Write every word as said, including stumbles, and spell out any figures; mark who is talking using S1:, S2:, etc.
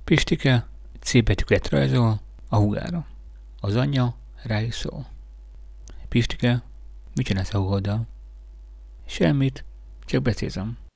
S1: Pistike C betűket rajzol a húgára. Az anyja rá is szól. Pistike, mit csinálsz a húgoddal? Semmit, csak becézem.